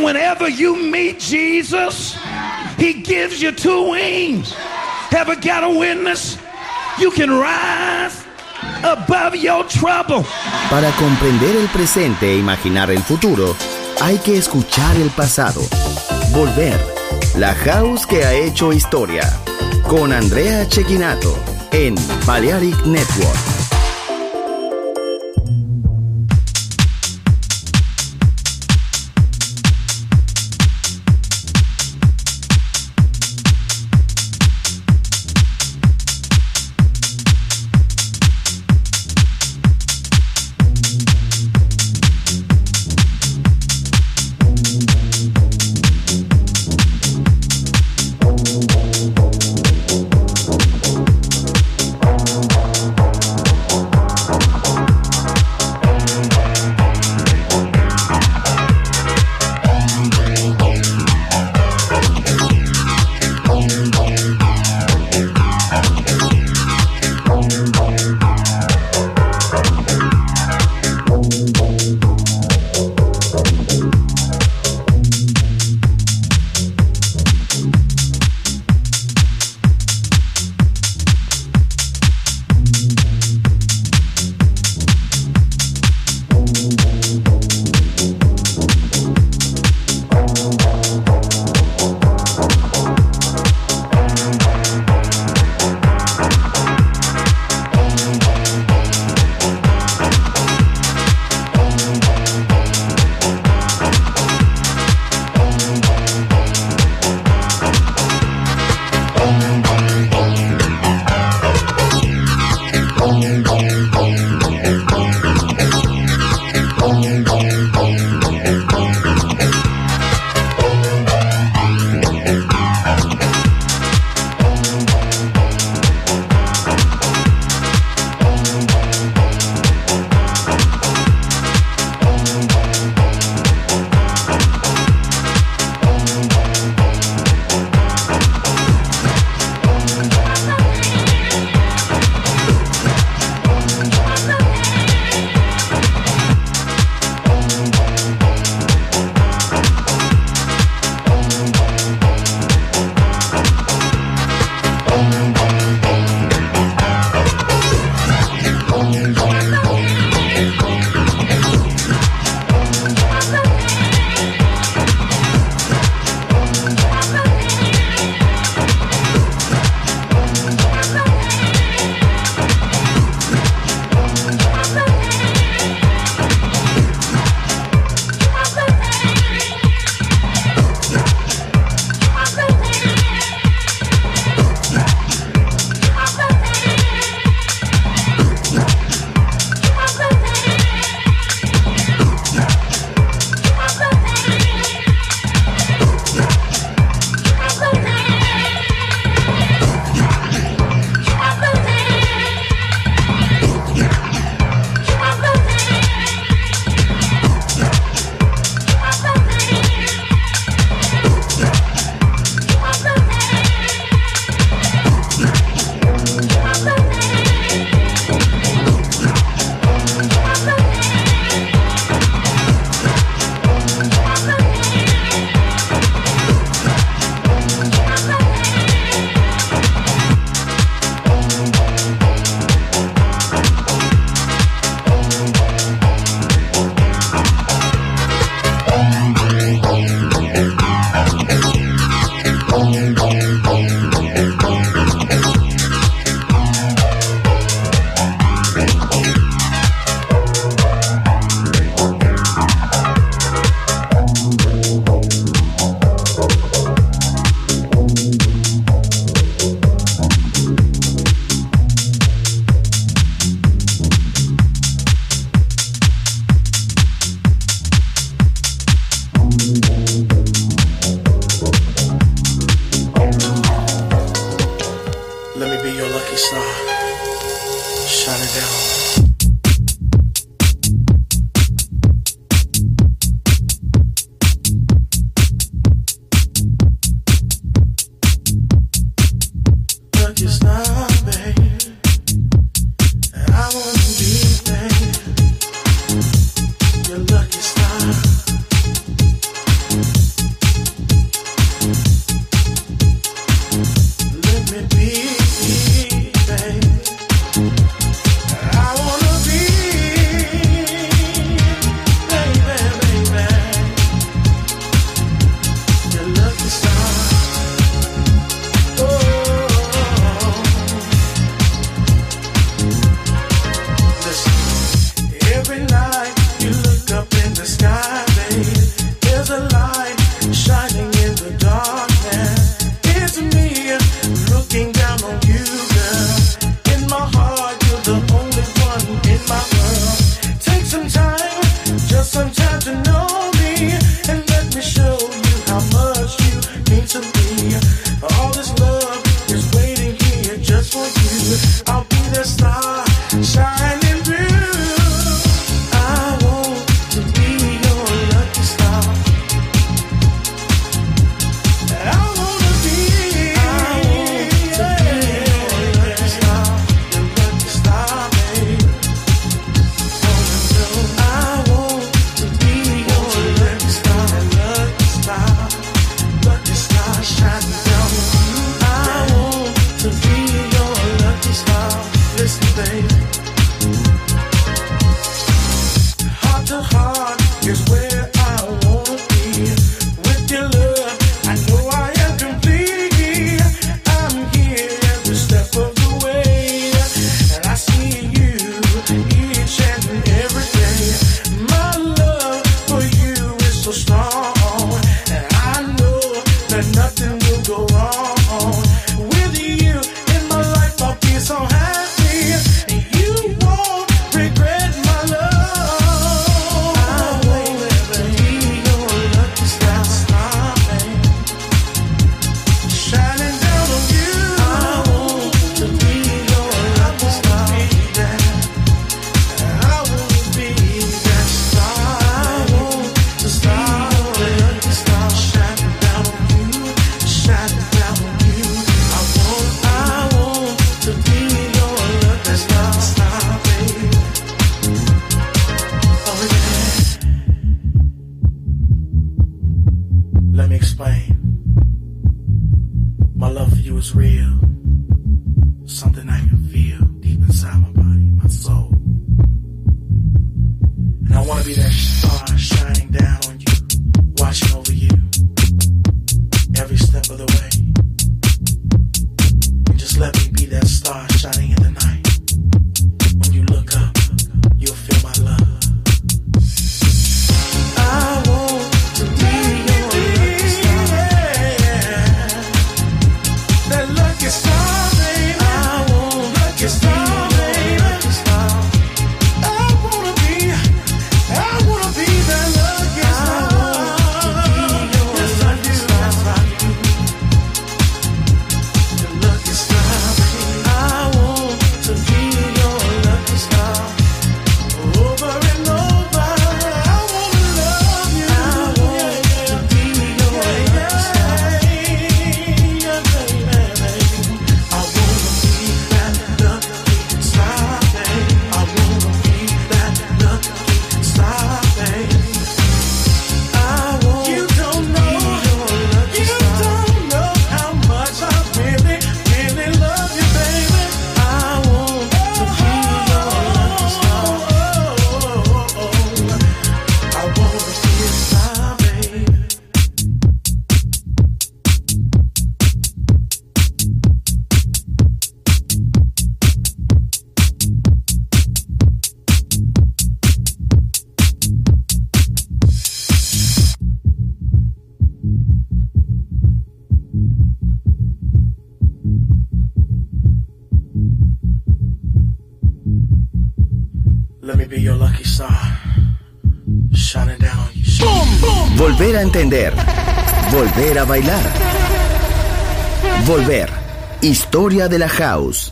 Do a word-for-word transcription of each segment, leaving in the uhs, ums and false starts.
whenever you meet Jesus, he gives you two wings. Ever got a witness? You can rise above your trouble. Para comprender el presente e imaginar el futuro, hay que escuchar el pasado. Volver. La House que ha hecho historia. Con Andrea Cecchinato en Balearic Network. to know me and let me show you how much you mean to me. All this love is waiting here just for you. I'll be the star shining through. I want to be your lucky star. I want to be, I want to be your lucky star, your lucky star, baby. I want to be your lucky star, lucky star, lucky star shining down on you. I want to be your lucky star. Listen, baby. Heart to heart is where I wanna be. With your love, I know I am complete. I'm here every step of the way, and I see you each and every day. My love for you is so strong, and I know that nothing will go wrong. With you in my life, I'll be so happy. You won't regret my love. I want to be your lucky star, baby, shining down on you. I want to be your lucky star, baby. I want to be that star. I want to be your lucky star, shining down on you, shining down on you. I want, I want to be your lucky star, star, baby. Oh yeah. Let me explain. My love for you is real. Something I can feel deep inside my body, my soul. And I want to be that star shining down on you, watching over you every step of the way. And just let me be that star shining in the night. When you look up, you'll feel my love. I want to be your lucky star, that lucky star, baby. I want lucky star, baby. Lucky star. I wanna be, I wanna be that lucky star. I want to be your lucky star, the lucky star, baby. I want to be your lucky star. Over and over, I wanna love you. I want to be your lucky star. Yeah, baby, baby. I wanna be that lucky star, baby. I wanna be that lucky star, baby. I want you don't know, you don't know how much I really, really love you, baby. I want to be your lucky star. I wanna be a star, baby. Let me be your lucky star, shining down on you. Volver a entender. Volver a bailar. Volver. Historia de la House.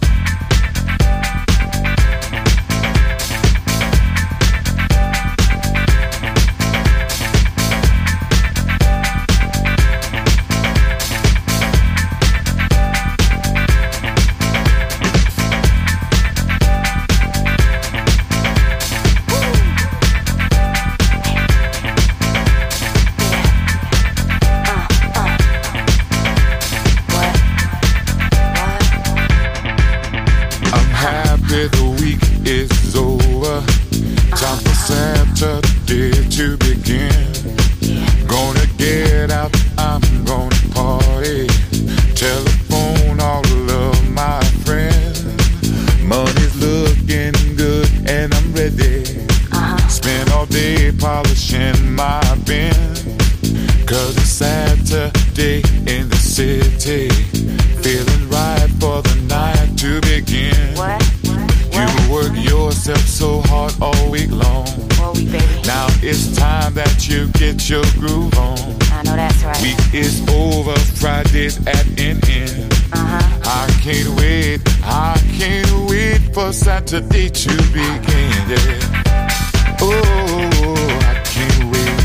I'm happy the week is over. Time for Saturday to begin. Gonna get out, I'm gonna party. Telephone all of my friends. Money's looking good and I'm ready. Spend all day polishing my bin. Cause it's Saturday in the city. Feeling right for the night to begin. What? You will work yourself so hard all week long. All week, baby. Now it's time that you get your groove on. I know that's right. Week is over, Friday's at an end. Uh-huh. I can't wait, I can't wait for Saturday to begin, yeah. Oh, I can't wait.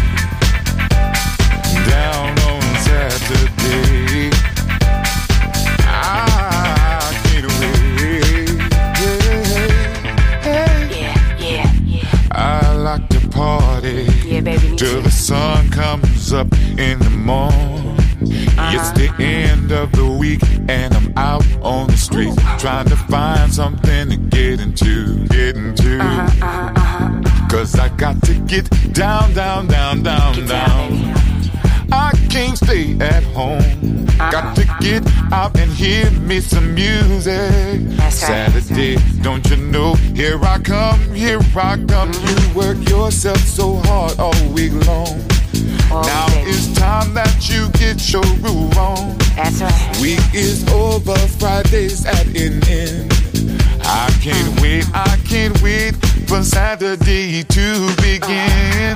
Down on Saturday, I can't wait. Yeah, yeah, yeah. I like to party, yeah, baby, till the sun comes up in the morning. Uh-huh. It's the end of the week and I'm out on the street trying to find something to get into, get into. Uh-huh, uh-huh, uh-huh. Cause I got to get down, down, down, down, get down. down I can't stay at home. Uh-huh. Got to get out and hear me some music. That's right. Saturday, don't you know? Here I come, here I come. You work yourself so hard all week long. Oh, now baby. It's time that you get your groove on. That's right. Week is over, Friday's at an end. I can't wait, I can't wait for Saturday to begin.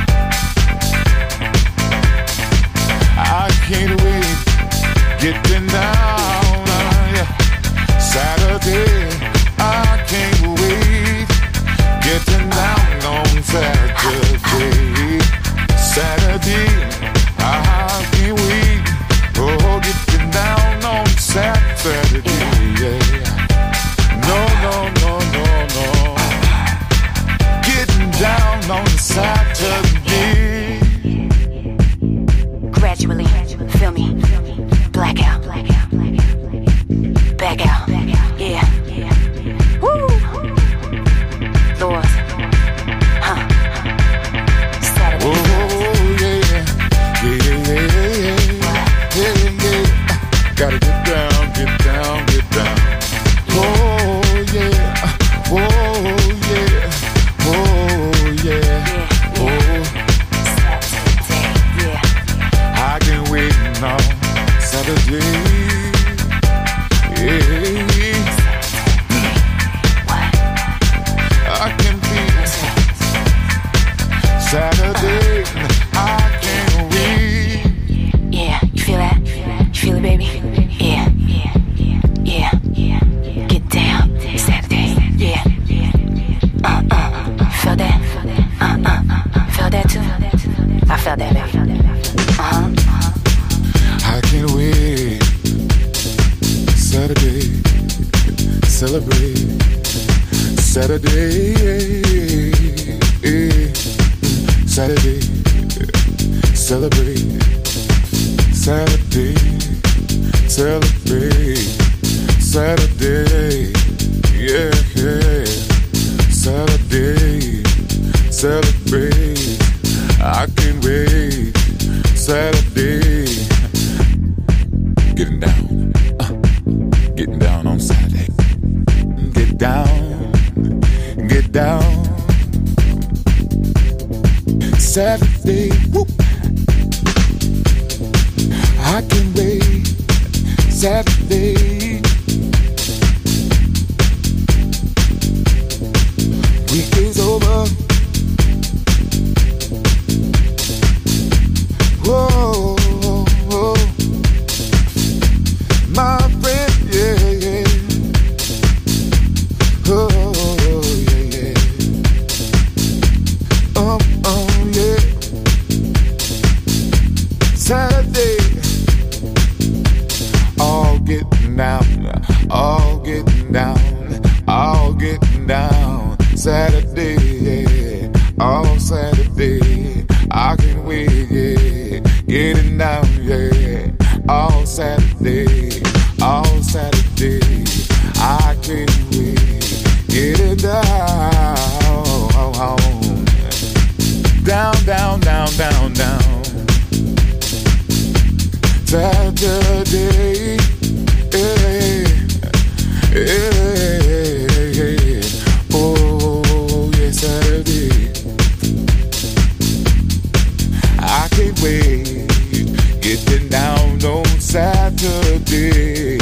I can't wait, getting down, uh, yeah. Saturday, I can't wait, getting down on Saturday. Saturday, I can't wait, oh, getting down on Saturday, yeah. No, no, no, no, no, getting down on Saturday. Gradually, feel me, blackout, back out, yeah, woo, Lord, huh, Saturday. Oh, yeah, yeah, yeah, yeah, yeah, yeah. Gotta get down, get down, get down. Oh, yeah, oh, yeah, oh, yeah, oh. Saturday, yeah. I can wait now, Saturday, yeah. I can be Saturday, I can't wait. Yeah, you feel that? You feel it, baby? Yeah, yeah, yeah. Get down, Saturday, yeah. Uh, uh, feel that? Uh, uh, feel that too? I felt that, baby. Uh-huh. I can't wait. Saturday, celebrate. Saturday, Saturday, celebrate. Saturday, celebrate. Saturday, yeah, yeah. Saturday, celebrate. I can't wait. Saturday, getting down, uh, getting down on Saturday. Get down, get down. Saturday, whoop. I can wait. Saturday, week is over. Whoa, whoa, my friend, yeah, yeah. Oh, yeah, yeah. Um, um, yeah. Saturday, all getting down, all getting down, all getting down. Saturday, yeah, all Saturday, I can wait, yeah, getting down, yeah, all Saturday, all Saturday, I can't wait, getting down, down, down, down, down, down. Saturday, yeah, yeah, yeah. Oh, yeah, Saturday. I can't wait, getting down on Saturday.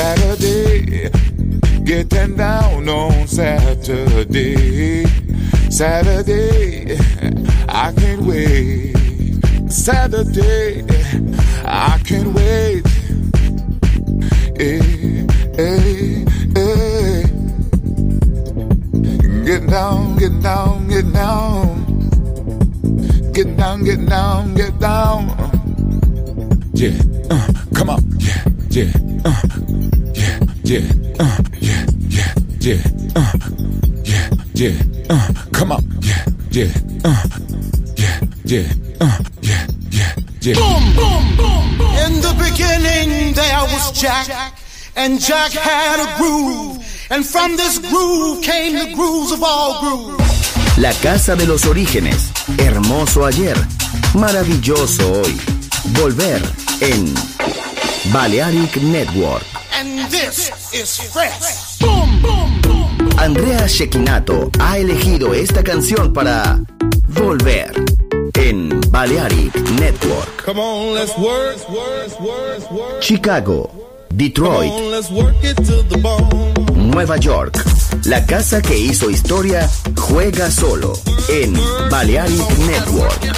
Saturday, getting down on Saturday. Saturday, I can't wait. Saturday, I can't wait. Hey, hey, hey. Get down, get down, get down. Get down, get down, get down. Yeah, uh, come on. Yeah, yeah, uh, yeah, yeah, uh, yeah, yeah, yeah, uh, yeah, yeah, uh, come on. Yeah, yeah, uh, yeah, yeah, uh, yeah, yeah, yeah. Boom, boom, boom, boom. In the beginning there was Jack, and Jack had a groove, and from this groove came the grooves of all grooves. La casa de los orígenes, hermoso ayer, maravilloso hoy. Volver en Balearic Network. And this is fresh. Boom, boom, boom. Andrea Cecchinato ha elegido esta canción para Volver en Balearic Network. Come on, let's work, work, work, work. Chicago, Detroit, Come on, let's work it to the bone. Nueva York. La casa que hizo historia juega solo en Balearic Network.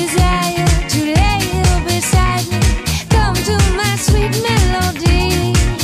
Desire to lay here beside me, come to my sweet melody.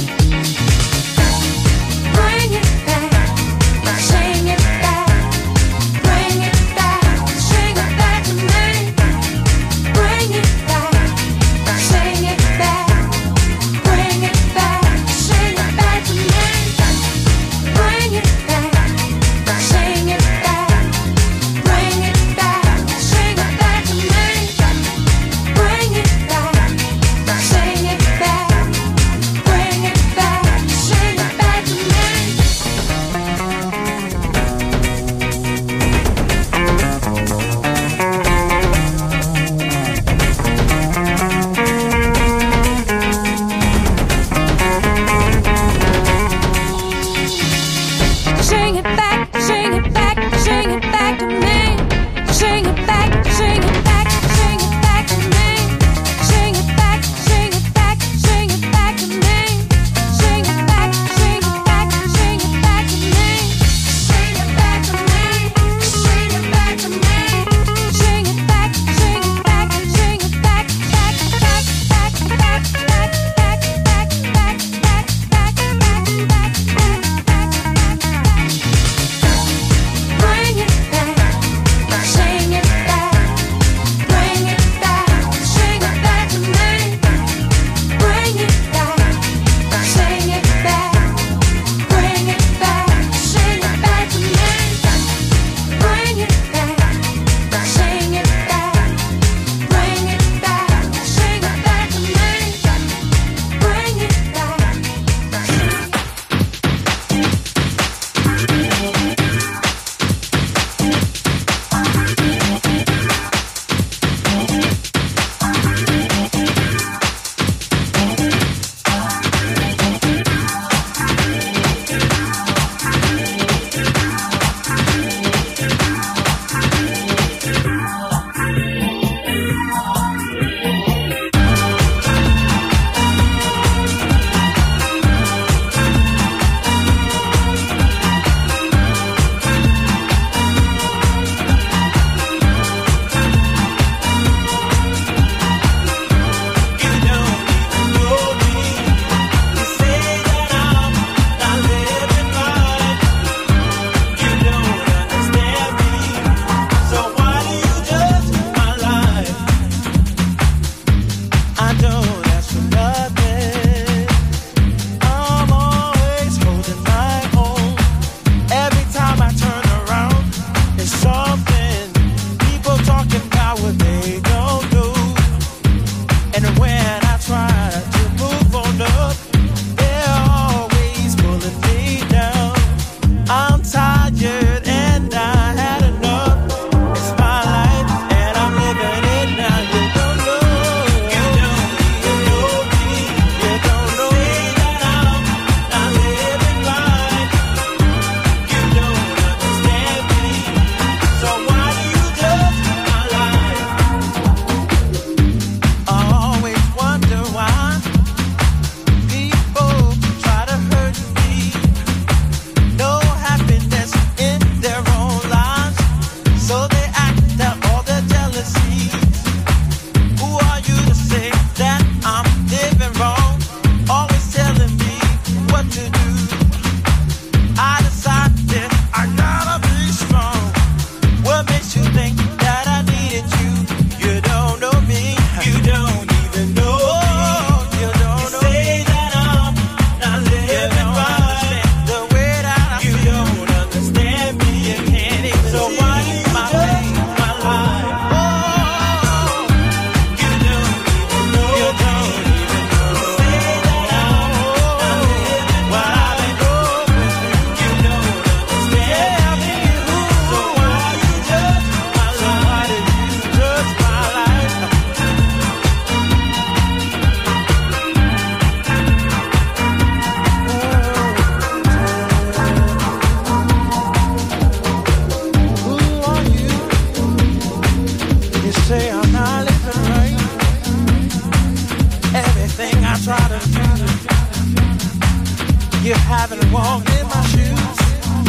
You haven't walked in my shoes.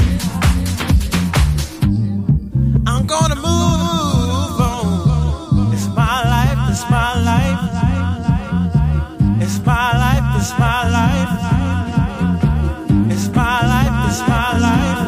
I'm gonna move on. It's my life, it's my life. It's my life, it's my life. It's my life, it's my life.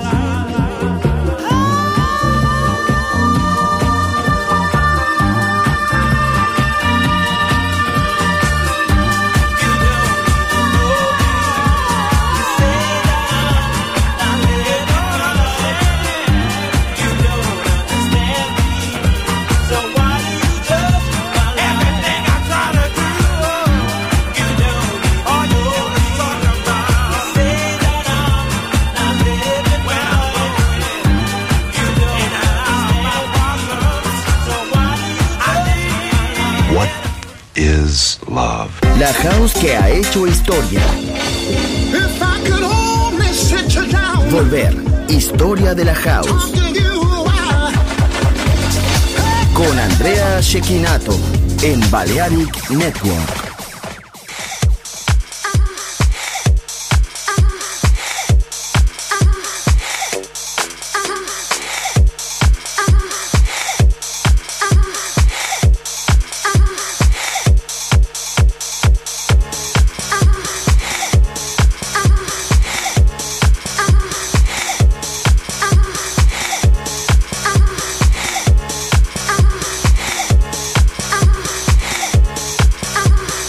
Is love. La house que ha hecho historia. If I could only sit you down. Volver. Historia de la house. Con Andrea Cecchinato en Balearic Network. Ah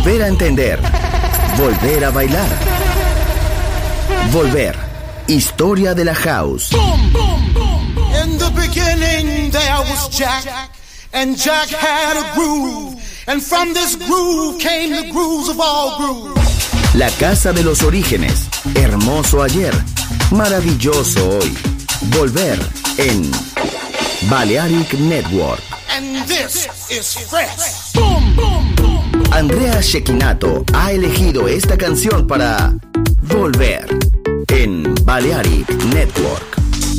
Volver a entender. Volver a bailar. Volver. Historia de la house. In the beginning there was Jack, and Jack had a groove, and from this groove came the grooves of all grooves. La casa de los orígenes. Hermoso ayer. Maravilloso hoy. Volver en Balearic Network. And this is fresh. Andrea Cecchinato ha elegido esta canción para Volver en Balearic Network.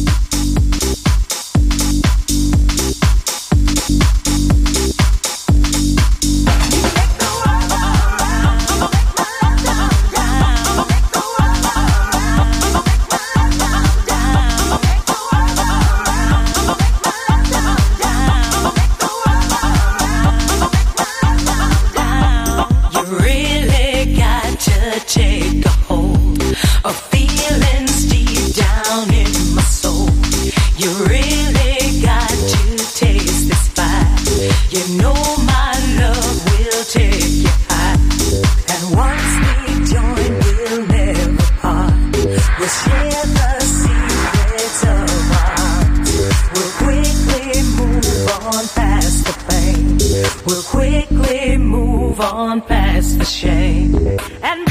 Take a hold of feelings deep down in my soul. You really got to taste this fire. You know my love will take you high. And once we join, we'll never part. We'll share the secrets of our hearts. We'll quickly move on past the pain. We'll quickly move on past the shame. And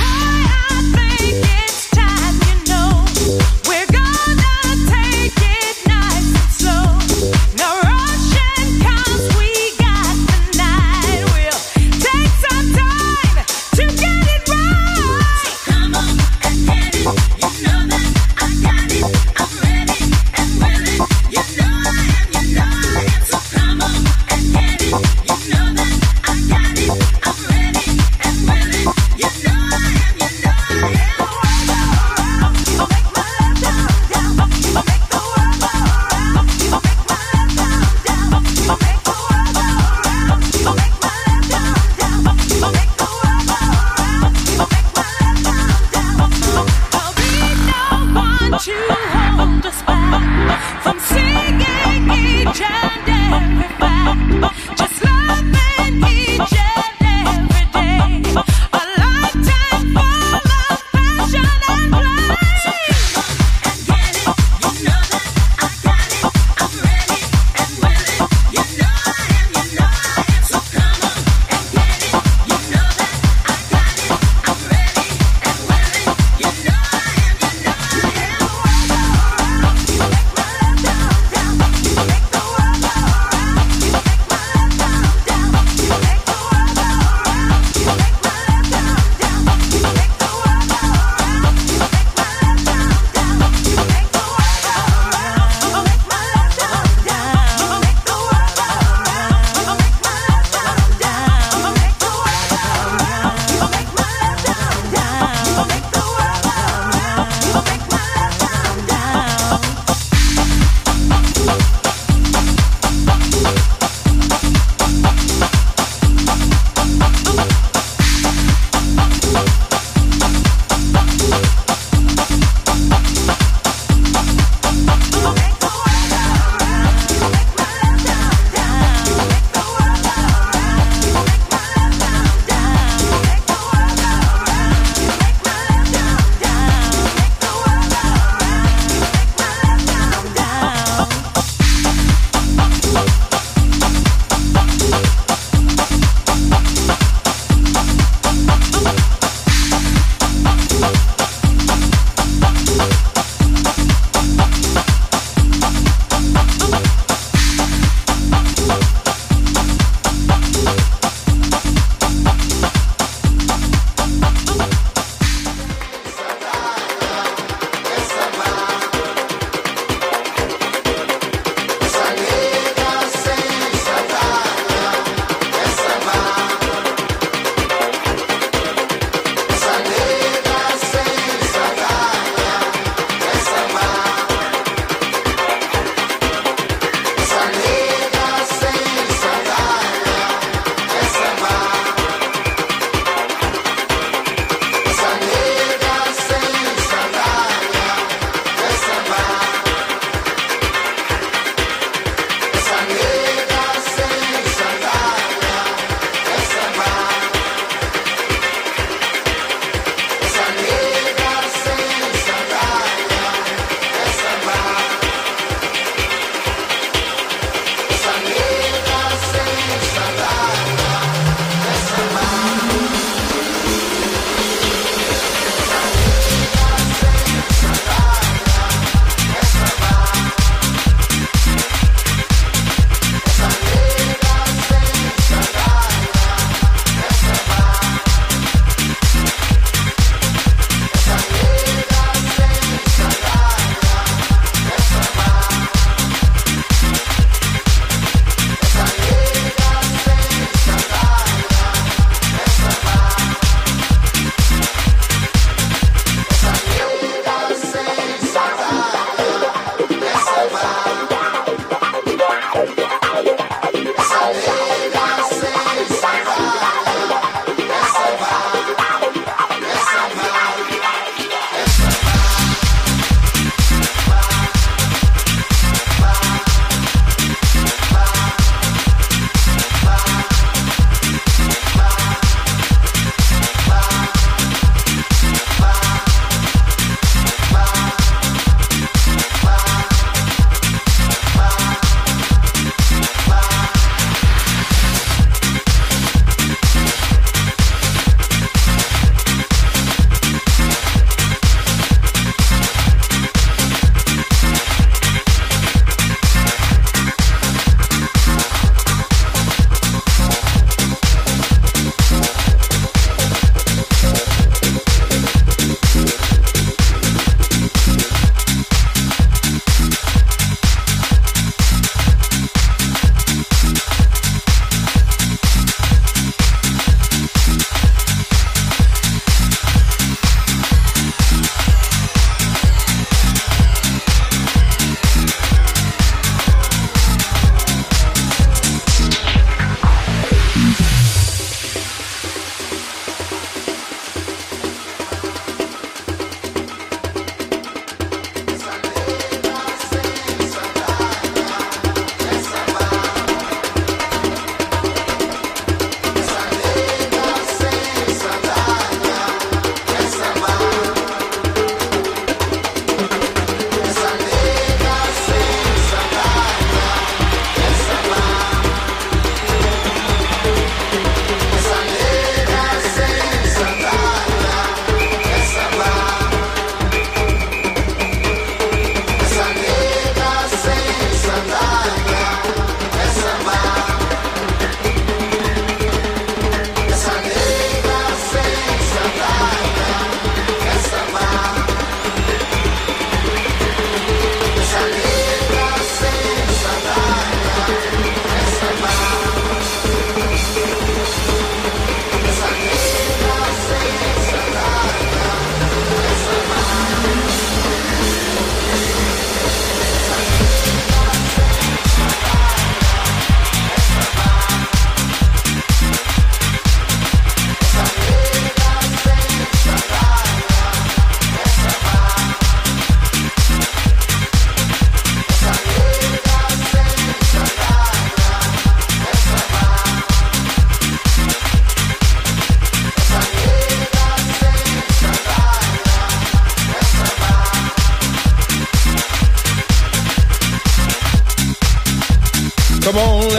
You know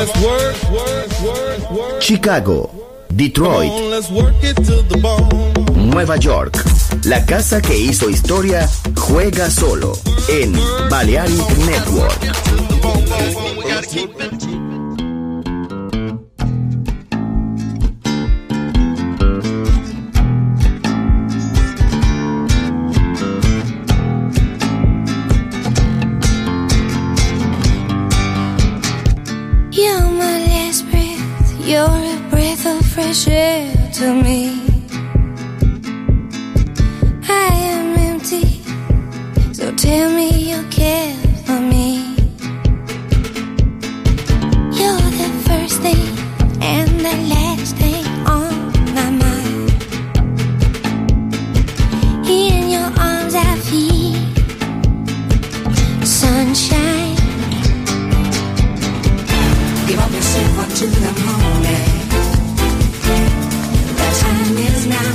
let's work, work, work, work. Chicago, Detroit, Come on, let's work it to the bone. Nueva York. La casa que hizo historia juega solo en Balearic Network. You're my last breath, you're a breath of fresh air to me. I am empty, so tell me you care for me. You're the first thing and the last thing on my mind. In your arms I feel sunshine. Give up yourself unto the moment. The time is now.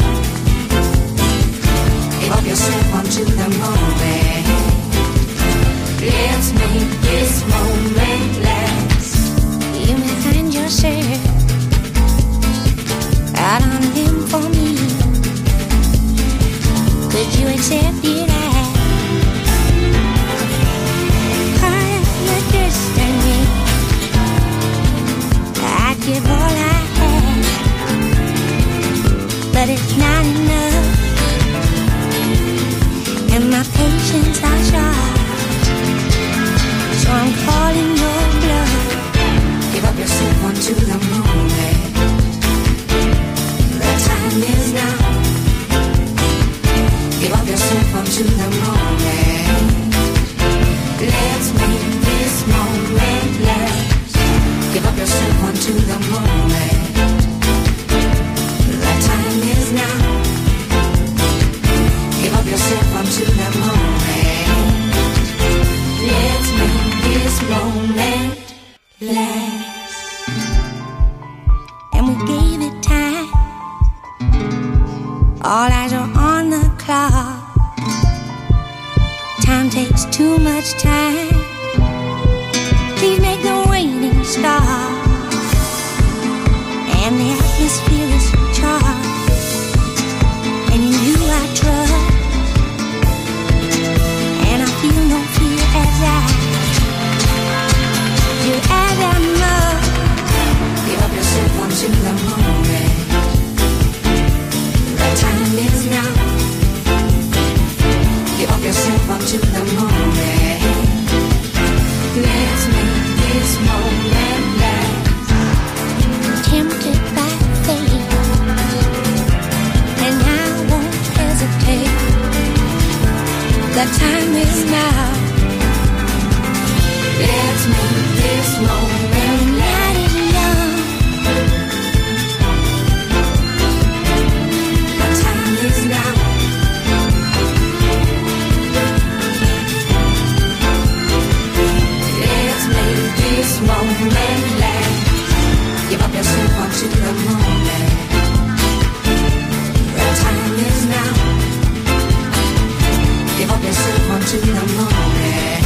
Give up yourself unto the moment. Let's make this moment last. You may find yourself out on a limb for me. Could you accept it as part of your destiny? I'd give all I have, but it's not enough, and my patience are short, so I'm calling your bluff. Give up yourself unto the moment. The time is now. Give up yourself unto the moment. Let's make this moment last. Give up yourself unto the moment. The time is now. Give up yourself unto the moment. Let's make this moment last. And we gave it time. All eyes are on the clock. Time takes too much time. Please make the waiting stop. And the atmosphere is charged. And in you I trust. And I feel no fear as I do as I must. Give up yourself unto the moment. The time is now. Give up yourself unto the moment. Let's make this moment last. Tempted by fate, and I won't hesitate. The time is now. Let's make this moment The night last. is young. The time is now. Let's make this moment last. Give up yourself unto the moment. The time is now. Give up yourself unto the moment.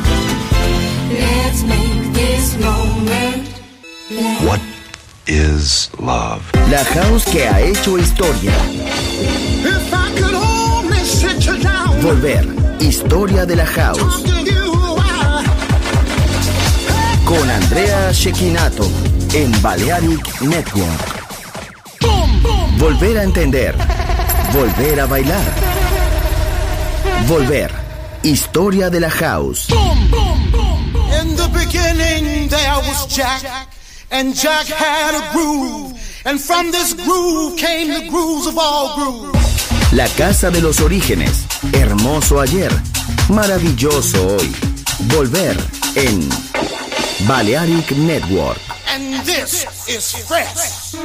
Let's make this moment last. What is love? La house que ha hecho historia. If I could only sit you down, Volver, historia de la house. talk to you while Con Andrea Cecchinato en Balearic Network. Volver a entender. Volver a bailar. Volver, historia de la house. in the beginning there was Jack, and Jack had a groove, and from this groove came the grooves of all grooves. La casa de los orígenes. Hermoso ayer. Maravilloso hoy. Volver en Balearic Network. And this is fresh.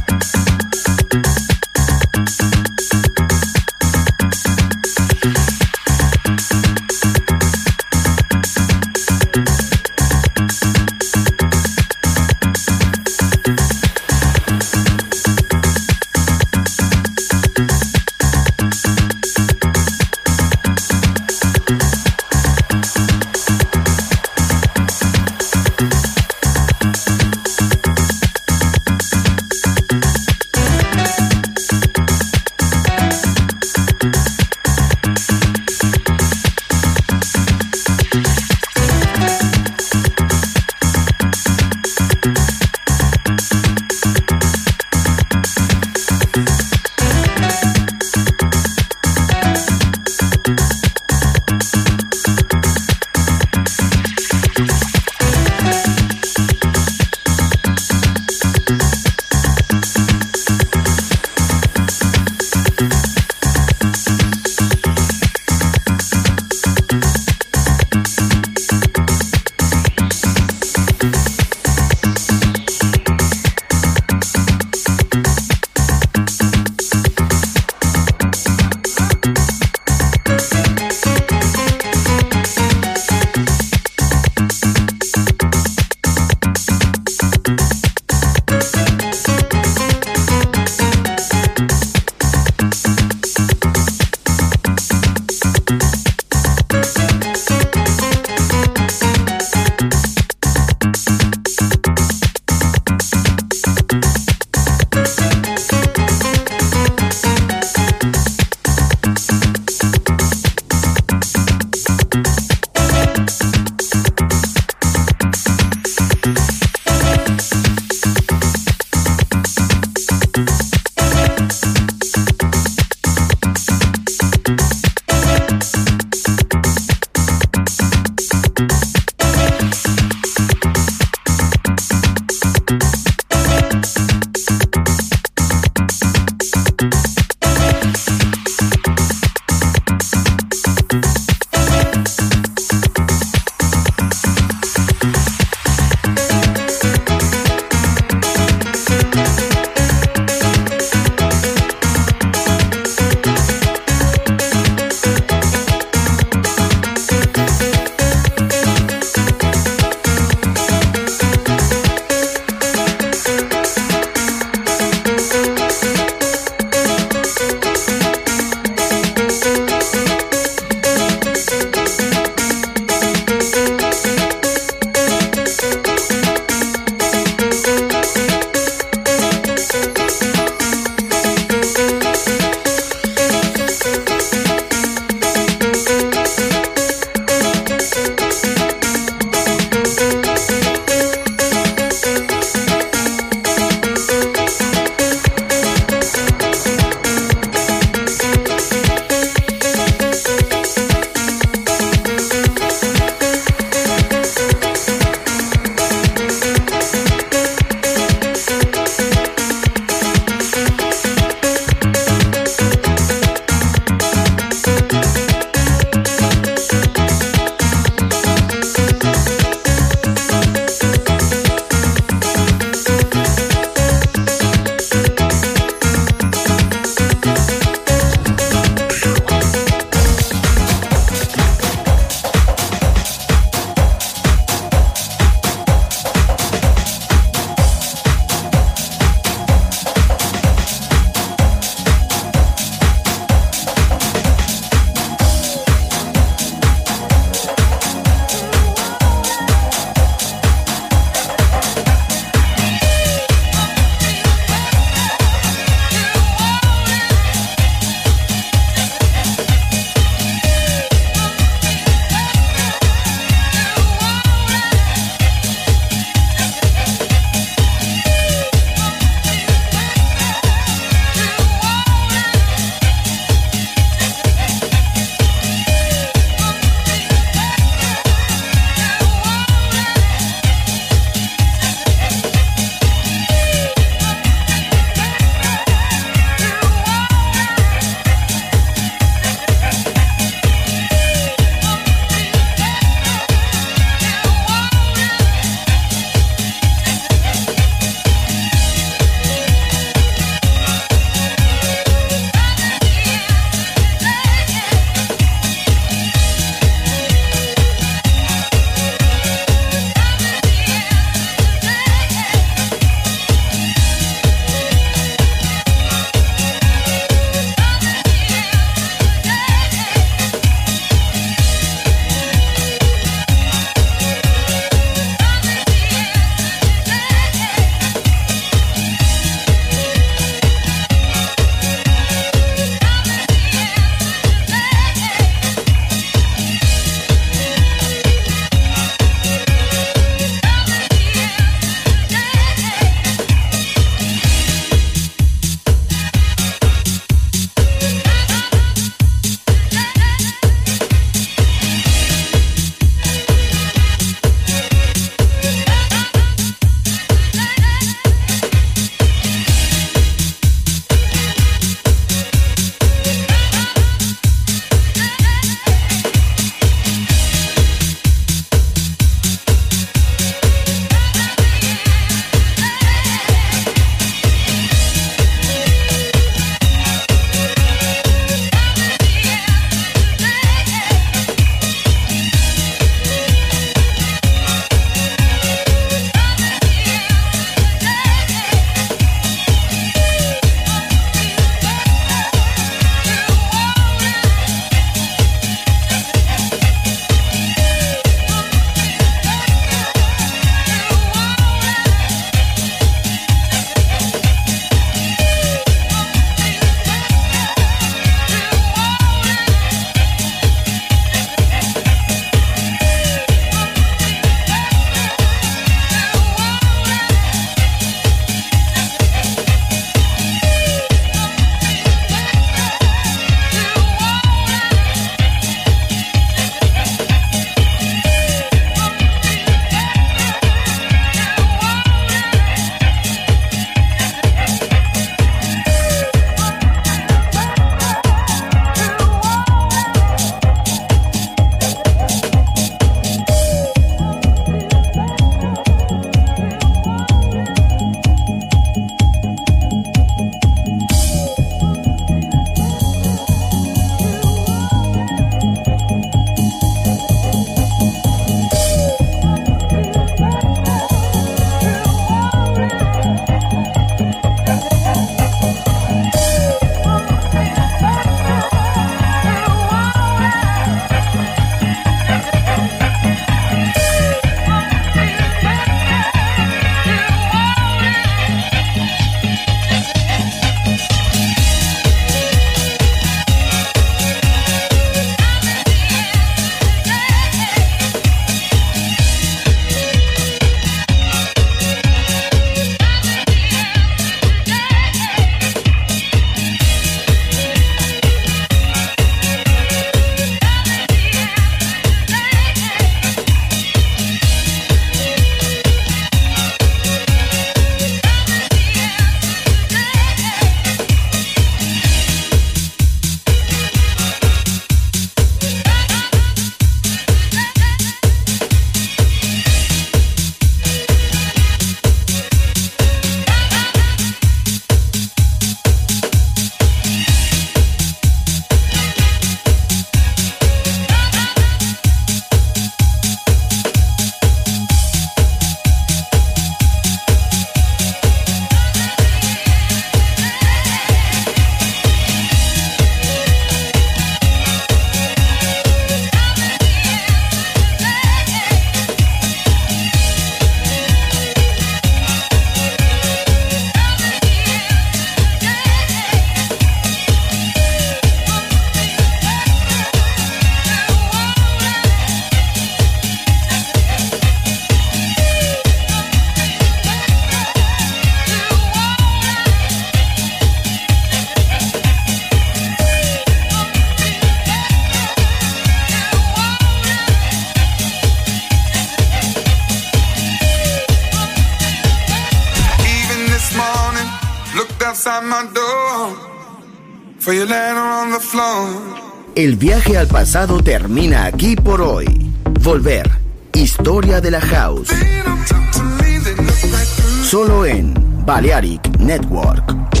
outside my door. For you later on the floor. El viaje al pasado termina aquí por hoy. Volver. Historia de la House. Solo en Balearic Network.